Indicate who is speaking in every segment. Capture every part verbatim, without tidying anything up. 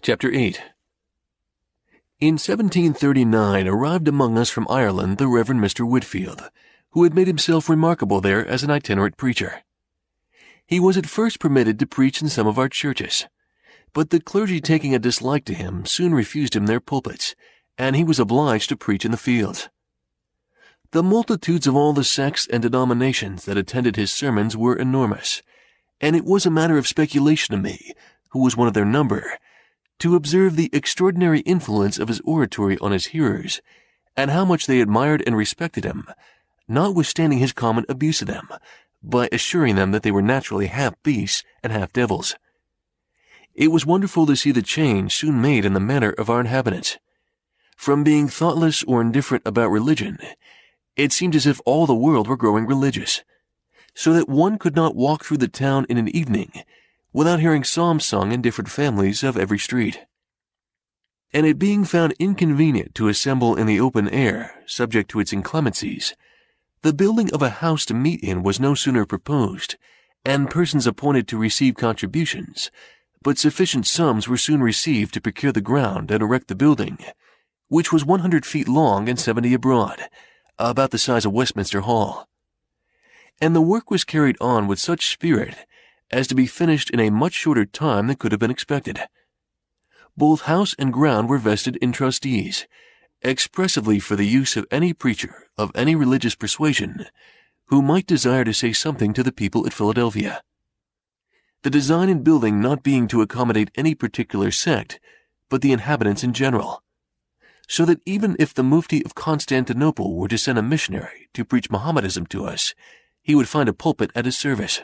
Speaker 1: Chapter eight. In seventeen thirty-nine arrived among us from Ireland the Reverend Mister Whitfield, who had made himself remarkable there as an itinerant preacher. He was at first permitted to preach in some of our churches, but the clergy taking a dislike to him soon refused him their pulpits, and he was obliged to preach in the fields. The multitudes of all the sects and denominations that attended his sermons were enormous, and it was a matter of speculation to me, who was one of their number, to observe the extraordinary influence of his oratory on his hearers, and how much they admired and respected him, notwithstanding his common abuse of them, by assuring them that they were naturally half beasts and half devils. It was wonderful to see the change soon made in the manner of our inhabitants. From being thoughtless or indifferent about religion, it seemed as if all the world were growing religious, so that one could not walk through the town in an evening without hearing psalms sung in different families of every street. And it being found inconvenient to assemble in the open air, subject to its inclemencies, the building of a house to meet in was no sooner proposed, and persons appointed to receive contributions, but sufficient sums were soon received to procure the ground and erect the building, which was one hundred feet long and seventy abroad, about the size of Westminster Hall. And the work was carried on with such spirit as to be finished in a much shorter time than could have been expected. Both house and ground were vested in trustees, expressively for the use of any preacher of any religious persuasion who might desire to say something to the people at Philadelphia. The design in building not being to accommodate any particular sect, but the inhabitants in general, so that even if the Mufti of Constantinople were to send a missionary to preach Mohammedanism to us, he would find a pulpit at his service.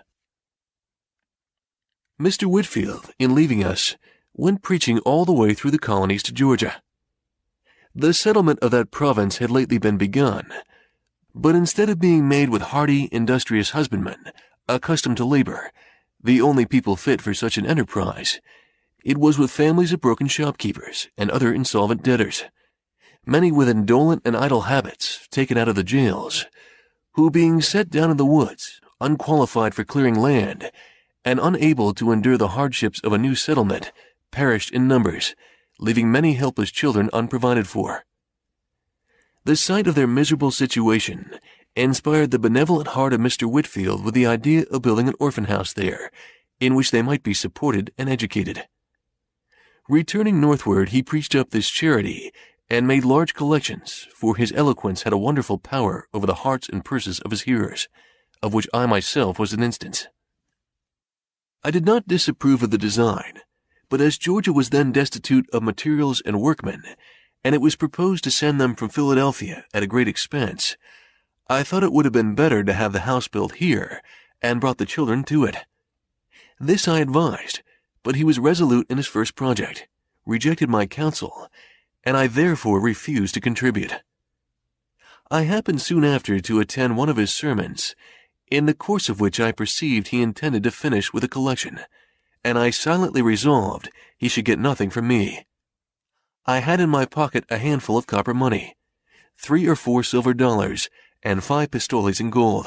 Speaker 1: Mister Whitfield, in leaving us, went preaching all the way through the colonies to Georgia. The settlement of that province had lately been begun, but instead of being made with hardy, industrious husbandmen, accustomed to labor, the only people fit for such an enterprise, it was with families of broken shopkeepers and other insolvent debtors, many with indolent and idle habits taken out of the jails, who being set down in the woods, unqualified for clearing land, and unable to endure the hardships of a new settlement, perished in numbers, leaving many helpless children unprovided for. The sight of their miserable situation inspired the benevolent heart of Mister Whitfield with the idea of building an orphan house there, in which they might be supported and educated. Returning northward, he preached up this charity, and made large collections, for his eloquence had a wonderful power over the hearts and purses of his hearers, of which I myself was an instance. I did not disapprove of the design, but as Georgia was then destitute of materials and workmen, and it was proposed to send them from Philadelphia at a great expense, I thought it would have been better to have the house built here, and brought the children to it. This I advised, but he was resolute in his first project, rejected my counsel, and I therefore refused to contribute. I happened soon after to attend one of his sermons, in the course of which I perceived he intended to finish with a collection, and I silently resolved he should get nothing from me. I had in my pocket a handful of copper money, three or four silver dollars, and five pistoles in gold.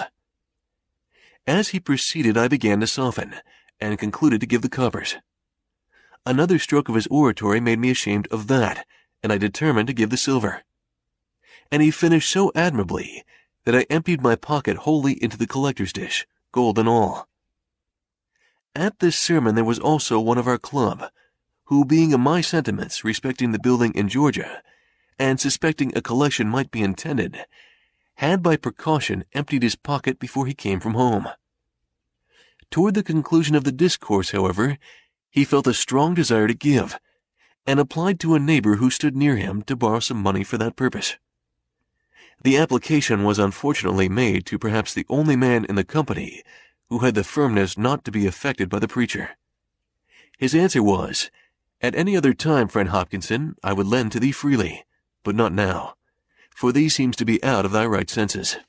Speaker 1: As he proceeded, I began to soften, and concluded to give the coppers. Another stroke of his oratory made me ashamed of that, and I determined to give the silver. And he finished so admirably that I emptied my pocket wholly into the collector's dish, gold and all. At this sermon there was also one of our club, who, being of my sentiments respecting the building in Georgia, and suspecting a collection might be intended, had by precaution emptied his pocket before he came from home. Toward the conclusion of the discourse, however, he felt a strong desire to give, and applied to a neighbor who stood near him to borrow some money for that purpose. The application was unfortunately made to perhaps the only man in the company who had the firmness not to be affected by the preacher. His answer was, "At any other time, friend Hopkinson, I would lend to thee freely, but not now, for thee seems to be out of thy right senses."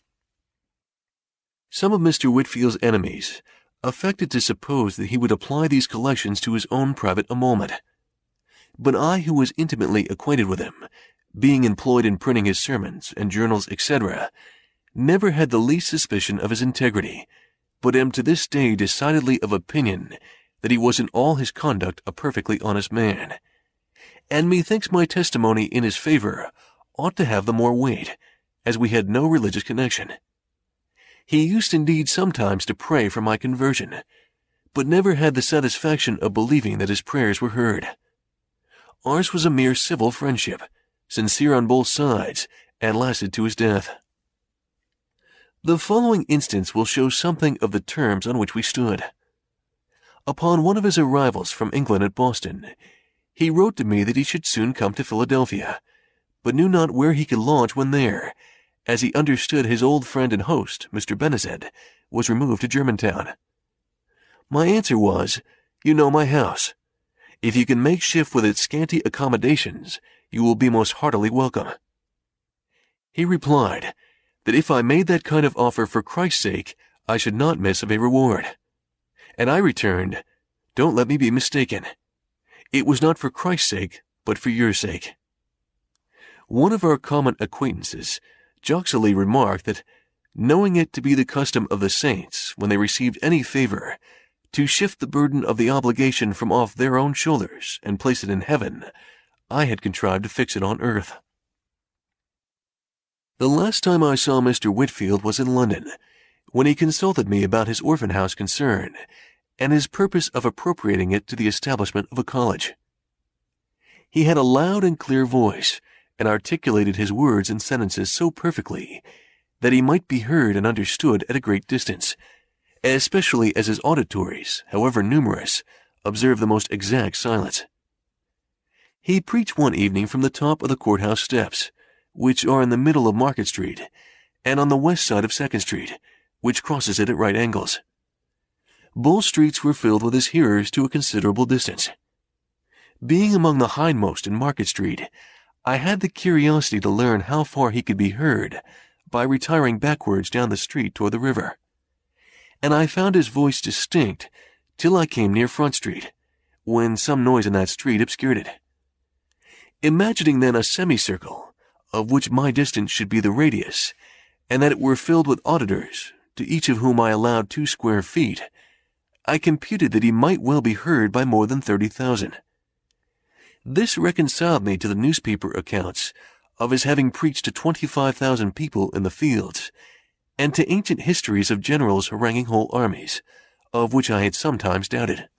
Speaker 1: Some of Mister Whitfield's enemies affected to suppose that he would apply these collections to his own private emolument. But I, who was intimately acquainted with him, being employed in printing his sermons and journals, et cetera, never had the least suspicion of his integrity, but am to this day decidedly of opinion that he was in all his conduct a perfectly honest man, and methinks my testimony in his favor ought to have the more weight, as we had no religious connection. He used indeed sometimes to pray for my conversion, but never had the satisfaction of believing that his prayers were heard. Ours was a mere civil friendship, sincere on both sides, and lasted to his death. The following instance will show something of the terms on which we stood. Upon one of his arrivals from England at Boston, he wrote to me that he should soon come to Philadelphia, but knew not where he could lodge when there, as he understood his old friend and host, Mister Benezet, was removed to Germantown. My answer was, "You know my house. If you can make shift with its scanty accommodations, you will be most heartily welcome." He replied that if I made that kind of offer for Christ's sake, I should not miss of a reward. And I returned, "Don't let me be mistaken. It was not for Christ's sake, but for your sake." One of our common acquaintances jocosely remarked that, knowing it to be the custom of the saints, when they received any favor, to shift the burden of the obligation from off their own shoulders and place it in heaven, I had contrived to fix it on earth. The last time I saw Mister Whitfield was in London, when he consulted me about his orphan house concern, and his purpose of appropriating it to the establishment of a college. He had a loud and clear voice, and articulated his words and sentences so perfectly that he might be heard and understood at a great distance, especially as his auditories, however numerous, observed the most exact silence. He preached one evening from the top of the courthouse steps, which are in the middle of Market Street, and on the west side of Second Street, which crosses it at right angles. Both streets were filled with his hearers to a considerable distance. Being among the hindmost in Market Street, I had the curiosity to learn how far he could be heard by retiring backwards down the street toward the river, and I found his voice distinct till I came near Front Street, when some noise in that street obscured it. Imagining then a semicircle, of which my distance should be the radius, and that it were filled with auditors, to each of whom I allowed two square feet, I computed that he might well be heard by more than thirty thousand. This reconciled me to the newspaper accounts of his having preached to twenty-five thousand people in the fields, and to ancient histories of generals haranguing whole armies, of which I had sometimes doubted.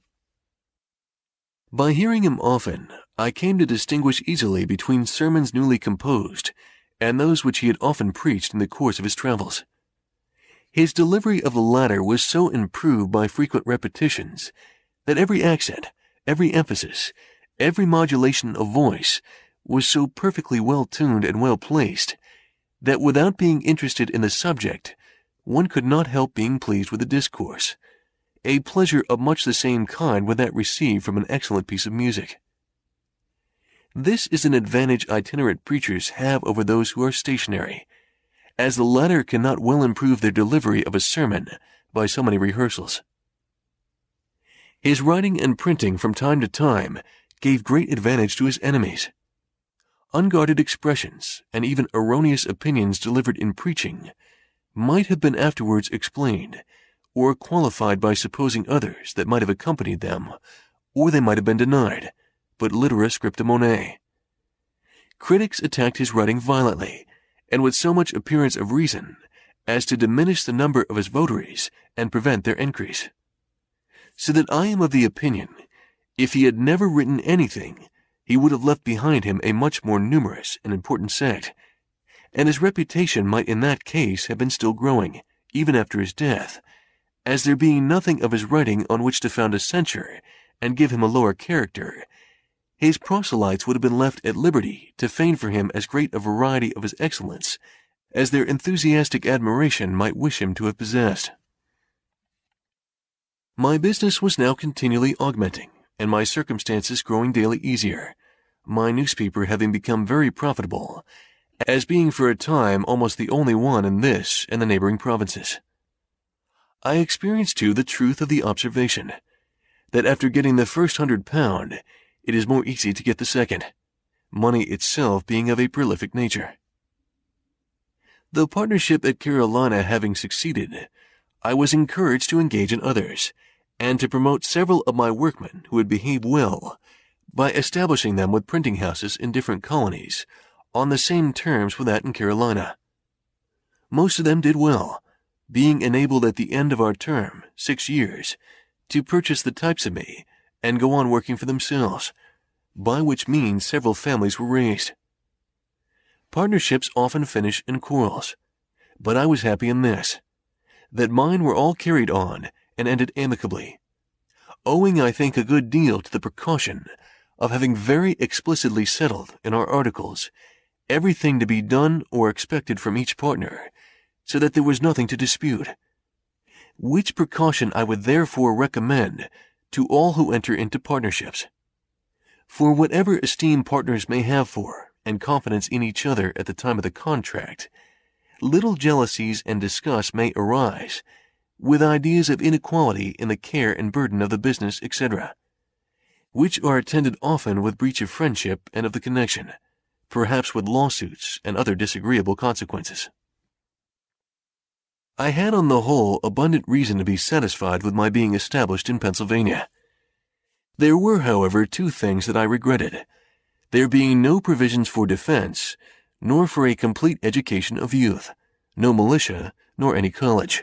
Speaker 1: By hearing him often, I came to distinguish easily between sermons newly composed and those which he had often preached in the course of his travels. His delivery of the latter was so improved by frequent repetitions that every accent, every emphasis, every modulation of voice was so perfectly well tuned and well placed that without being interested in the subject, one could not help being pleased with the discourse, a pleasure of much the same kind with that received from an excellent piece of music. This is an advantage itinerant preachers have over those who are stationary, as the latter cannot well improve their delivery of a sermon by so many rehearsals. His writing and printing from time to time gave great advantage to his enemies. Unguarded expressions, and even erroneous opinions delivered in preaching, might have been afterwards explained, or qualified by supposing others that might have accompanied them, or they might have been denied, but litera scripta monet. Critics attacked his writing violently, and with so much appearance of reason, as to diminish the number of his votaries and prevent their increase. So that I am of the opinion, if he had never written anything, he would have left behind him a much more numerous and important sect, and his reputation might in that case have been still growing, even after his death, as there being nothing of his writing on which to found a censure and give him a lower character, his proselytes would have been left at liberty to feign for him as great a variety of his excellence as their enthusiastic admiration might wish him to have possessed. My business was now continually augmenting, and my circumstances growing daily easier, my newspaper having become very profitable, as being for a time almost the only one in this and the neighboring provinces. I experienced, too, the truth of the observation, that after getting the first hundred pound, it is more easy to get the second, money itself being of a prolific nature. The partnership at Carolina having succeeded, I was encouraged to engage in others, and to promote several of my workmen who had behaved well, by establishing them with printing houses in different colonies, on the same terms with that in Carolina. Most of them did well, being enabled at the end of our term, six years, to purchase the types of me and go on working for themselves, by which means several families were raised. Partnerships often finish in quarrels, but I was happy in this, that mine were all carried on and ended amicably, owing I think a good deal to the precaution of having very explicitly settled in our articles everything to be done or expected from each partner, so that there was nothing to dispute, which precaution I would therefore recommend to all who enter into partnerships. For whatever esteem partners may have for and confidence in each other at the time of the contract, little jealousies and disgust may arise, with ideas of inequality in the care and burden of the business, et cetera, which are attended often with breach of friendship and of the connection, perhaps with lawsuits and other disagreeable consequences. I had on the whole abundant reason to be satisfied with my being established in Pennsylvania. There were, however, two things that I regretted, there being no provisions for defense, nor for a complete education of youth, no militia, nor any college.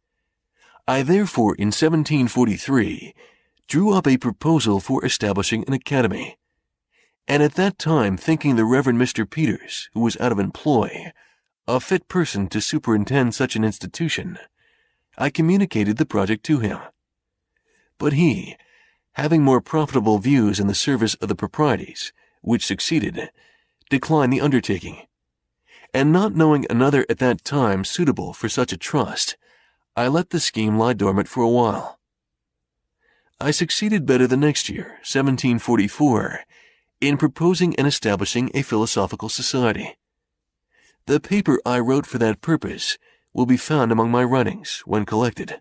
Speaker 1: I therefore, in seventeen forty-three, drew up a proposal for establishing an academy, and at that time thinking the Reverend Mister Peters, who was out of employ, a fit person to superintend such an institution, I communicated the project to him. But he, having more profitable views in the service of the proprieties, which succeeded, declined the undertaking, and not knowing another at that time suitable for such a trust, I let the scheme lie dormant for a while. I succeeded better the next year, seventeen forty-four, in proposing and establishing a philosophical society. The paper I wrote for that purpose will be found among my writings when collected.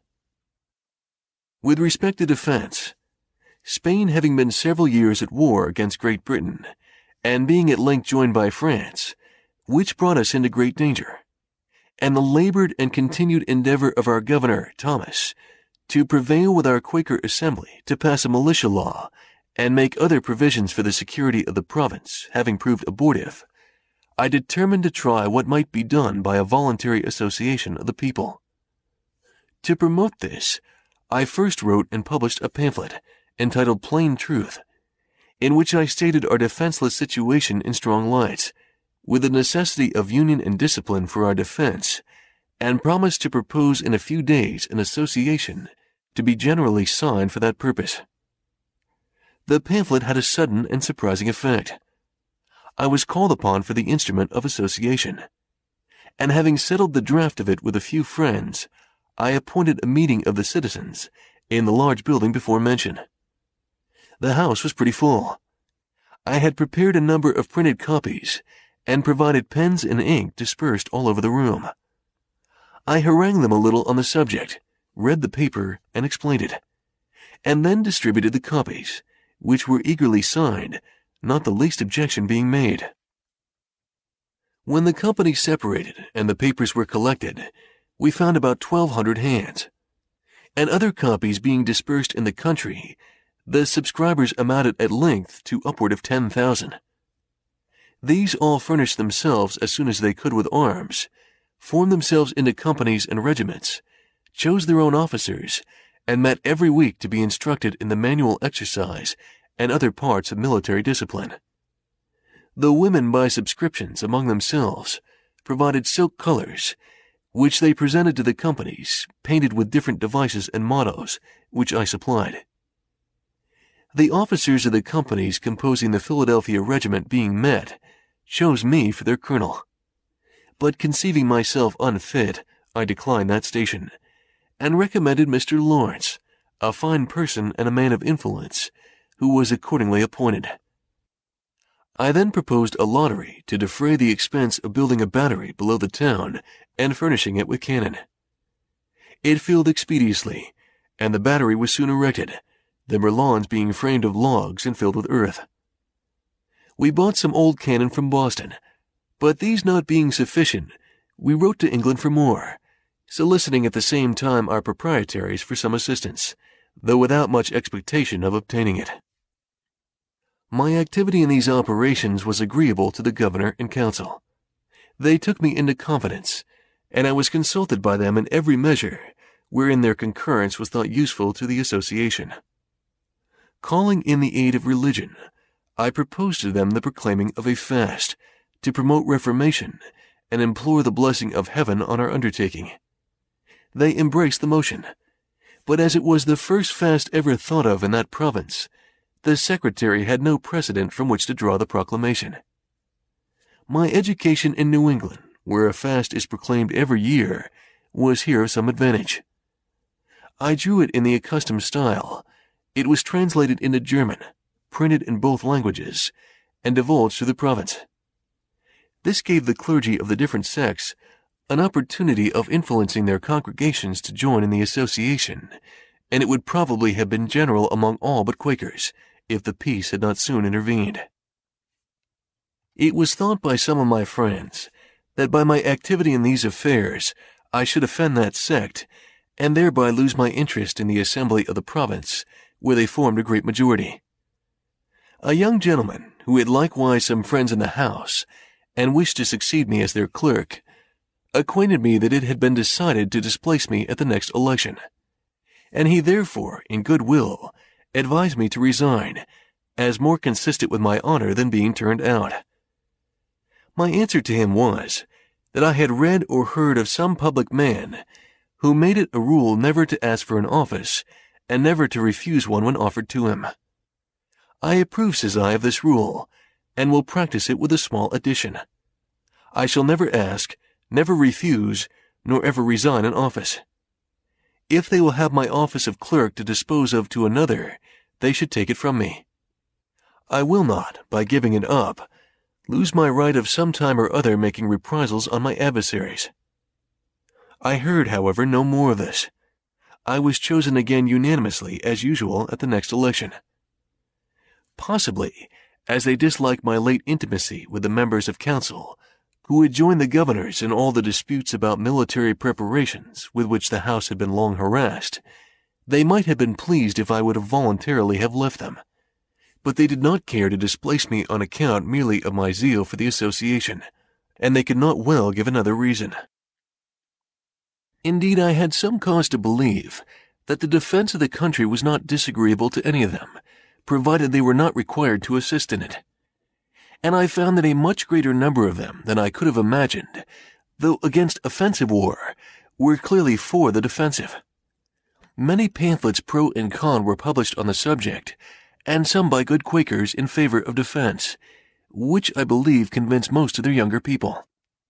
Speaker 1: With respect to defense, Spain having been several years at war against Great Britain, and being at length joined by France, which brought us into great danger, and the labored and continued endeavor of our governor, Thomas, to prevail with our Quaker Assembly to pass a militia law and make other provisions for the security of the province having proved abortive, I determined to try what might be done by a voluntary association of the people. To promote this, I first wrote and published a pamphlet entitled Plain Truth, in which I stated our defenseless situation in strong lights, with the necessity of union and discipline for our defense, and promised to propose in a few days an association to be generally signed for that purpose. The pamphlet had a sudden and surprising effect. I was called upon for the instrument of association, and having settled the draft of it with a few friends, I appointed a meeting of the citizens in the large building before mentioned. The house was pretty full. I had prepared a number of printed copies, and provided pens and ink dispersed all over the room. I harangued them a little on the subject, read the paper, and explained it, and then distributed the copies, which were eagerly signed, not the least objection being made. When the company separated and the papers were collected, we found about twelve hundred hands, and other copies being dispersed in the country, the subscribers amounted at length to upward of ten thousand. These all furnished themselves as soon as they could with arms, formed themselves into companies and regiments, chose their own officers, and met every week to be instructed in the manual exercise and other parts of military discipline. The women by subscriptions among themselves provided silk colors, which they presented to the companies, painted with different devices and mottos, which I supplied. The officers of the companies composing the Philadelphia regiment being met, chose me for their colonel. But conceiving myself unfit, I declined that station, and recommended Mister Lawrence, a fine person and a man of influence, who was accordingly appointed. I then proposed a lottery to defray the expense of building a battery below the town and furnishing it with cannon. It filled expeditiously, and the battery was soon erected, the merlons being framed of logs and filled with earth. We bought some old cannon from Boston, but these not being sufficient, we wrote to England for more, soliciting at the same time our proprietaries for some assistance, though without much expectation of obtaining it. My activity in these operations was agreeable to the governor and council. They took me into confidence, and I was consulted by them in every measure wherein their concurrence was thought useful to the association. Calling in the aid of religion, I proposed to them the proclaiming of a fast to promote reformation and implore the blessing of heaven on our undertaking. They embraced the motion, but as it was the first fast ever thought of in that province, the secretary had no precedent from which to draw the proclamation. My education in New England, where a fast is proclaimed every year, was here of some advantage. I drew it in the accustomed style. It was translated into German, printed in both languages, and divulged to the province. This gave the clergy of the different sects an opportunity of influencing their congregations to join in the association, and it would probably have been general among all but Quakers, if the peace had not soon intervened. It was thought by some of my friends that by my activity in these affairs I should offend that sect, and thereby lose my interest in the assembly of the province, where they formed a great majority. A young gentleman, who had likewise some friends in the house, and wished to succeed me as their clerk, acquainted me that it had been decided to displace me at the next election, and he therefore, in good will, advised me to resign, as more consistent with my honor than being turned out. My answer to him was, that I had read or heard of some public man who made it a rule never to ask for an office, and never to refuse one when offered to him. I approve, says I, of this rule, and will practice it with a small addition. I shall never ask, never refuse, nor ever resign an office. If they will have my office of clerk to dispose of to another, they should take it from me. I will not, by giving it up, lose my right of some time or other making reprisals on my adversaries. I heard, however, no more of this. I was chosen again unanimously, as usual, at the next election. Possibly, as they disliked my late intimacy with the members of council, who had joined the governors in all the disputes about military preparations with which the house had been long harassed, they might have been pleased if I would have voluntarily have left them. But they did not care to displace me on account merely of my zeal for the association, and they could not well give another reason. Indeed, I had some cause to believe that the defense of the country was not disagreeable to any of them, provided they were not required to assist in it. And I found that a much greater number of them than I could have imagined, though against offensive war, were clearly for the defensive. Many pamphlets pro and con were published on the subject, and some by good Quakers in favor of defense, which I believe convinced most of their younger people.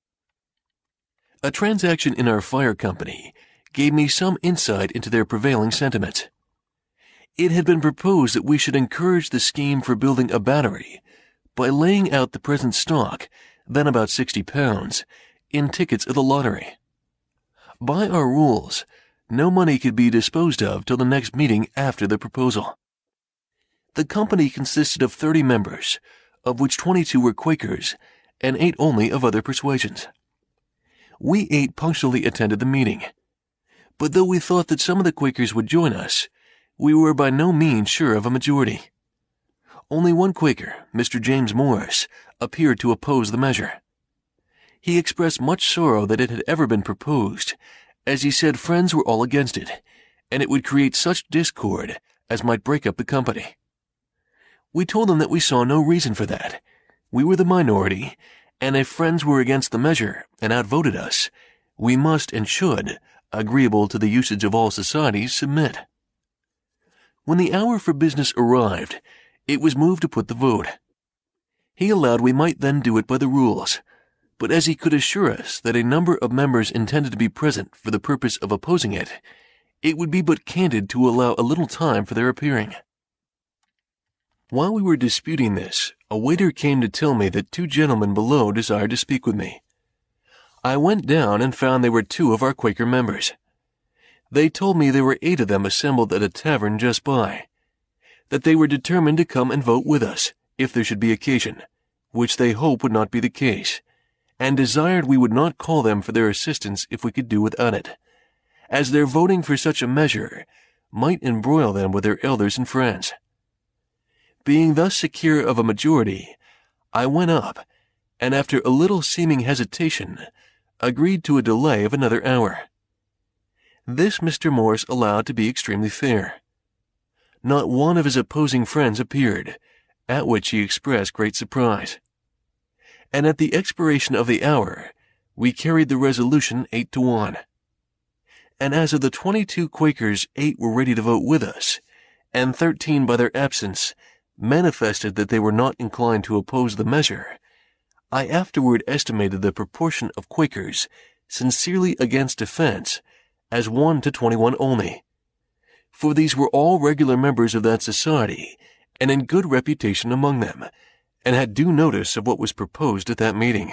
Speaker 1: A transaction in our fire company gave me some insight into their prevailing sentiments. It had been proposed that we should encourage the scheme for building a battery by laying out the present stock, then about sixty pounds, in tickets of the lottery. By our rules, no money could be disposed of till the next meeting after the proposal. The company consisted of thirty members, of which twenty-two were Quakers, and eight only of other persuasions. We eight punctually attended the meeting, but though we thought that some of the Quakers would join us, we were by no means sure of a majority. Only one Quaker, Mister James Morris, appeared to oppose the measure. He expressed much sorrow that it had ever been proposed, as he said friends were all against it, and it would create such discord as might break up the company. We told him that we saw no reason for that. We were the minority, and if friends were against the measure and outvoted us, we must and should, agreeable to the usage of all societies, submit. When the hour for business arrived, it was moved to put the vote. He allowed we might then do it by the rules, but as he could assure us that a number of members intended to be present for the purpose of opposing it, it would be but candid to allow a little time for their appearing. While we were disputing this, a waiter came to tell me that two gentlemen below desired to speak with me. I went down and found they were two of our Quaker members. They told me there were eight of them assembled at a tavern just by, that they were determined to come and vote with us, if there should be occasion, which they hoped would not be the case, and desired we would not call them for their assistance if we could do without it, as their voting for such a measure might embroil them with their elders and friends. Being thus secure of a majority, I went up, and after a little seeming hesitation, agreed to a delay of another hour. This Mister Morse allowed to be extremely fair. Not one of his opposing friends appeared, at which he expressed great surprise. And at the expiration of the hour, we carried the resolution eight to one. And as of the twenty-two Quakers, eight were ready to vote with us, and thirteen by their absence manifested that they were not inclined to oppose the measure, I afterward estimated the proportion of Quakers sincerely against defense as one to twenty-one only, for these were all regular members of that society and in good reputation among them, and had due notice of what was proposed at that meeting.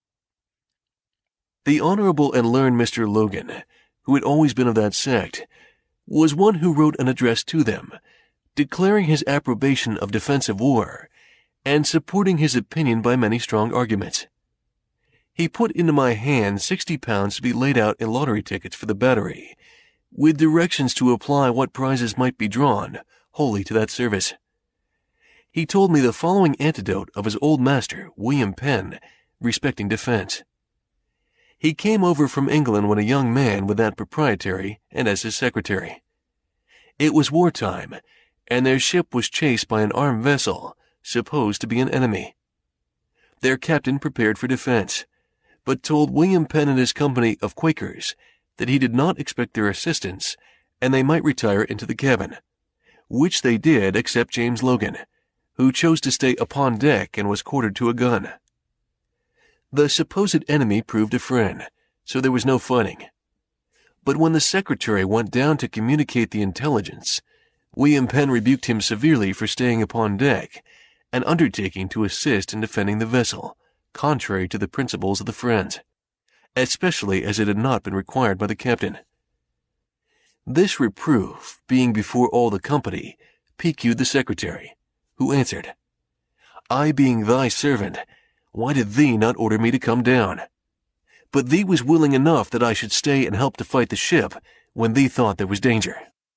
Speaker 1: The honorable and learned Mister Logan, who had always been of that sect, was one who wrote an address to them, declaring his approbation of defensive war, and supporting his opinion by many strong arguments. He put into my hand sixty pounds to be laid out in lottery tickets for the battery, with directions to apply what prizes might be drawn wholly to that service. He told me the following anecdote of his old master, William Penn, respecting defense. He came over from England when a young man with that proprietary and as his secretary. It was wartime, and their ship was chased by an armed vessel, supposed to be an enemy. Their captain prepared for defense, but told William Penn and his company of Quakers that he did not expect their assistance, and they might retire into the cabin, which they did except James Logan, who chose to stay upon deck and was quartered to a gun. The supposed enemy proved a friend, so there was no fighting. But when the secretary went down to communicate the intelligence, William Penn rebuked him severely for staying upon deck and undertaking to assist in defending the vessel, contrary to the principles of the Friends, especially as it had not been required by the captain. This reproof, being before all the company, piqued the secretary, who answered, I being thy servant, why did thee not order me to come down? But thee was willing enough that I should stay and help to fight the ship when thee thought there was danger.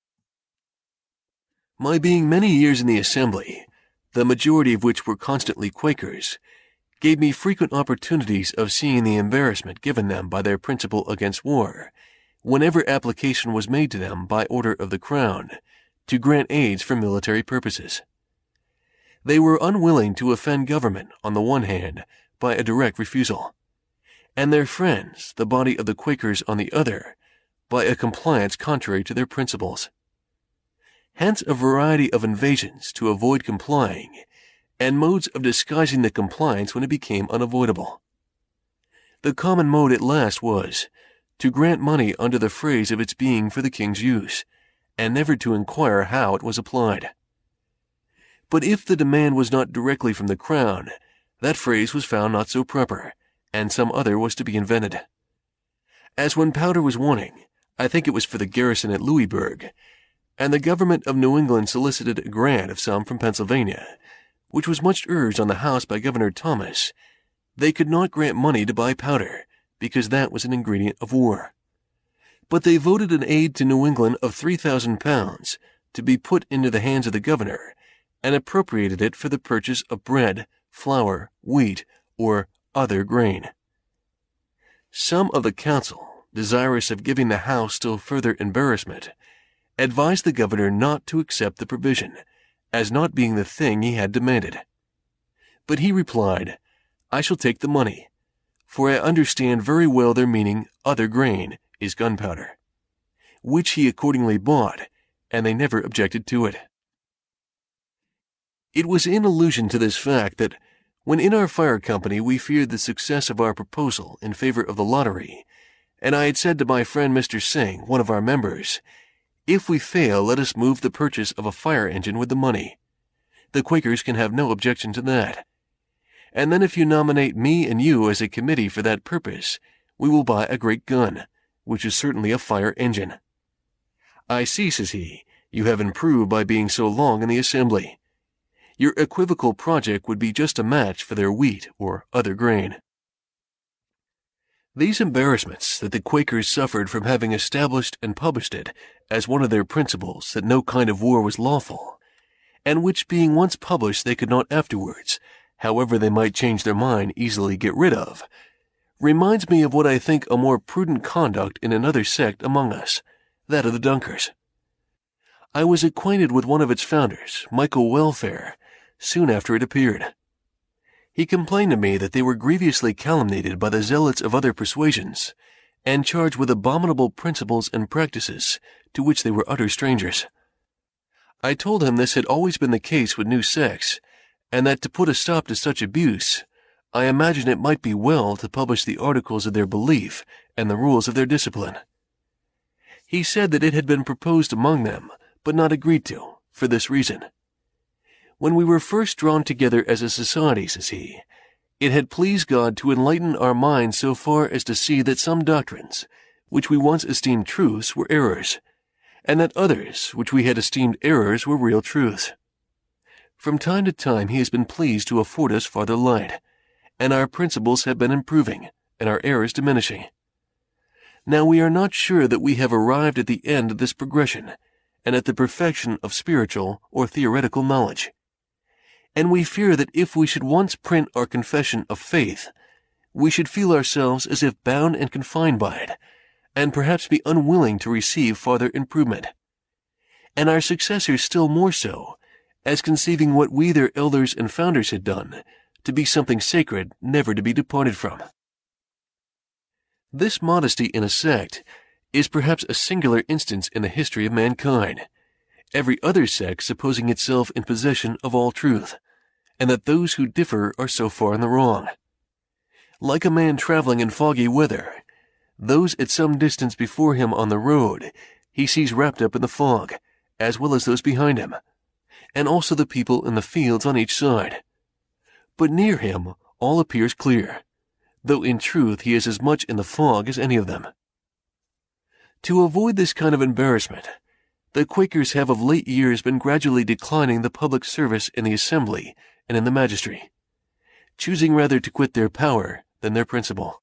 Speaker 1: My being many years in the Assembly, the majority of which were constantly Quakers, gave me frequent opportunities of seeing the embarrassment given them by their principle against war, whenever application was made to them by order of the Crown to grant aids for military purposes. They were unwilling to offend government on the one hand by a direct refusal, and their friends, the body of the Quakers on the other, by a compliance contrary to their principles. Hence a variety of invasions to avoid complying, and modes of disguising the compliance when it became unavoidable. The common mode at last was to grant money under the phrase of its being for the king's use, and never to inquire how it was applied. But if the demand was not directly from the Crown, that phrase was found not so proper, and some other was to be invented. As when powder was wanting, I think it was for the garrison at Louisburg, and the government of New England solicited a grant of some from Pennsylvania, which was much urged on the House by Governor Thomas, they could not grant money to buy powder, because that was an ingredient of war. But they voted an aid to New England of three thousand pounds to be put into the hands of the governor, and appropriated it for the purchase of bread, flour, wheat, or other grain. Some of the council, desirous of giving the House still further embarrassment, advised the governor not to accept the provision, as not being the thing he had demanded. But he replied, I shall take the money, for I understand very well their meaning other grain is gunpowder, which he accordingly bought, and they never objected to it. It was in allusion to this fact that, when in our fire company we feared the success of our proposal in favor of the lottery, and I had said to my friend Mister Singh, one of our members, if we fail, let us move the purchase of a fire engine with the money. The Quakers can have no objection to that. And then if you nominate me and you as a committee for that purpose, we will buy a great gun, which is certainly a fire engine. I see, says he, you have improved by being so long in the Assembly. Your equivocal project would be just a match for their wheat or other grain. These embarrassments that the Quakers suffered from having established and published it as one of their principles that no kind of war was lawful, and which being once published they could not afterwards, however they might change their mind, easily get rid of, reminds me of what I think a more prudent conduct in another sect among us, that of the Dunkers. I was acquainted with one of its founders, Michael Welfare, soon after it appeared. He complained to me that they were grievously calumniated by the zealots of other persuasions, and charged with abominable principles and practices to which they were utter strangers. I told him this had always been the case with new sects, and that to put a stop to such abuse, I imagined it might be well to publish the articles of their belief and the rules of their discipline. He said that it had been proposed among them, but not agreed to, for this reason. When we were first drawn together as a society, says he, it had pleased God to enlighten our minds so far as to see that some doctrines, which we once esteemed truths, were errors, and that others, which we had esteemed errors, were real truths. From time to time he has been pleased to afford us farther light, and our principles have been improving, and our errors diminishing. Now we are not sure that we have arrived at the end of this progression, and at the perfection of spiritual or theoretical knowledge. And we fear that if we should once print our confession of faith, we should feel ourselves as if bound and confined by it, and perhaps be unwilling to receive farther improvement. And our successors still more so, as conceiving what we their elders and founders had done, to be something sacred never to be departed from. This modesty in a sect is perhaps a singular instance in the history of mankind, every other sect supposing itself in possession of all truth, and that those who differ are so far in the wrong. Like a man traveling in foggy weather, those at some distance before him on the road he sees wrapped up in the fog, as well as those behind him, and also the people in the fields on each side. But near him all appears clear, though in truth he is as much in the fog as any of them. To avoid this kind of embarrassment, the Quakers have of late years been gradually declining the public service in the assembly and in the magistracy, choosing rather to quit their power than their principle.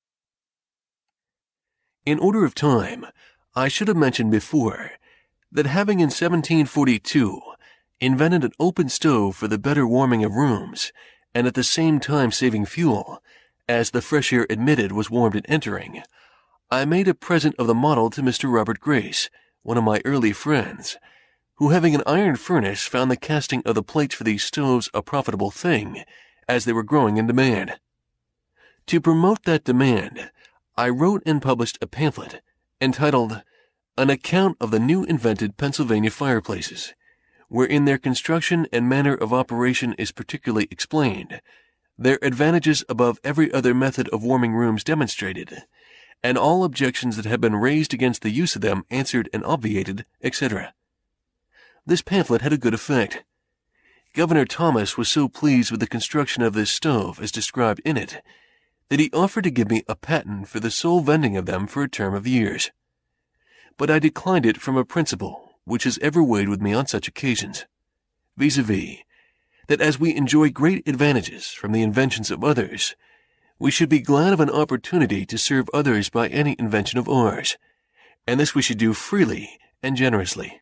Speaker 1: In order of time, I should have mentioned before that having in seventeen forty-two invented an open stove for the better warming of rooms, and at the same time saving fuel, as the fresh air admitted was warmed in entering, I made a present of the model to Mister Robert Grace, one of my early friends, who having an iron furnace found the casting of the plates for these stoves a profitable thing, as they were growing in demand. To promote that demand, I wrote and published a pamphlet entitled An Account of the New Invented Pennsylvania Fireplaces, wherein their construction and manner of operation is particularly explained, their advantages above every other method of warming rooms demonstrated, and all objections that have been raised against the use of them answered and obviated, et cetera. This pamphlet had a good effect. Governor Thomas was so pleased with the construction of this stove as described in it, that he offered to give me a patent for the sole vending of them for a term of years. But I declined it from a principle which has ever weighed with me on such occasions, viz-a-vis, that as we enjoy great advantages from the inventions of others, we should be glad of an opportunity to serve others by any invention of ours, and this we should do freely and generously.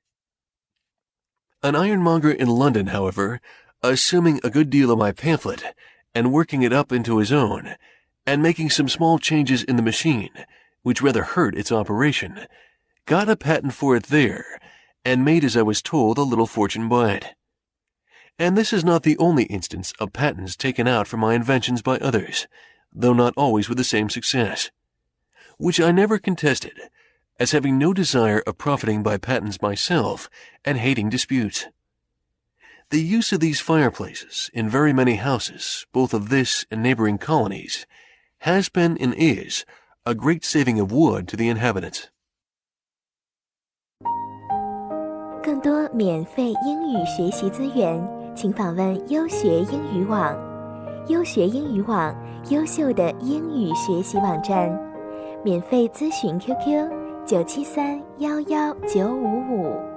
Speaker 1: An ironmonger in London, however, assuming a good deal of my pamphlet, and working it up into his own, and making some small changes in the machine, which rather hurt its operation, got a patent for it there, and made, as I was told, a little fortune by it. And this is not the only instance of patents taken out for my inventions by others, though not always with the same success, which I never contested, as having no desire of profiting by patents myself, and hating disputes. The use of these fireplaces in very many houses, both of this and neighboring colonies, has been and is a great saving of wood to the inhabitants.
Speaker 2: 更多免费英语学习资源，请访问优学英语网。优学英语网，优秀的英语学习网站。免费咨询 Q Q 九七三幺幺九五五。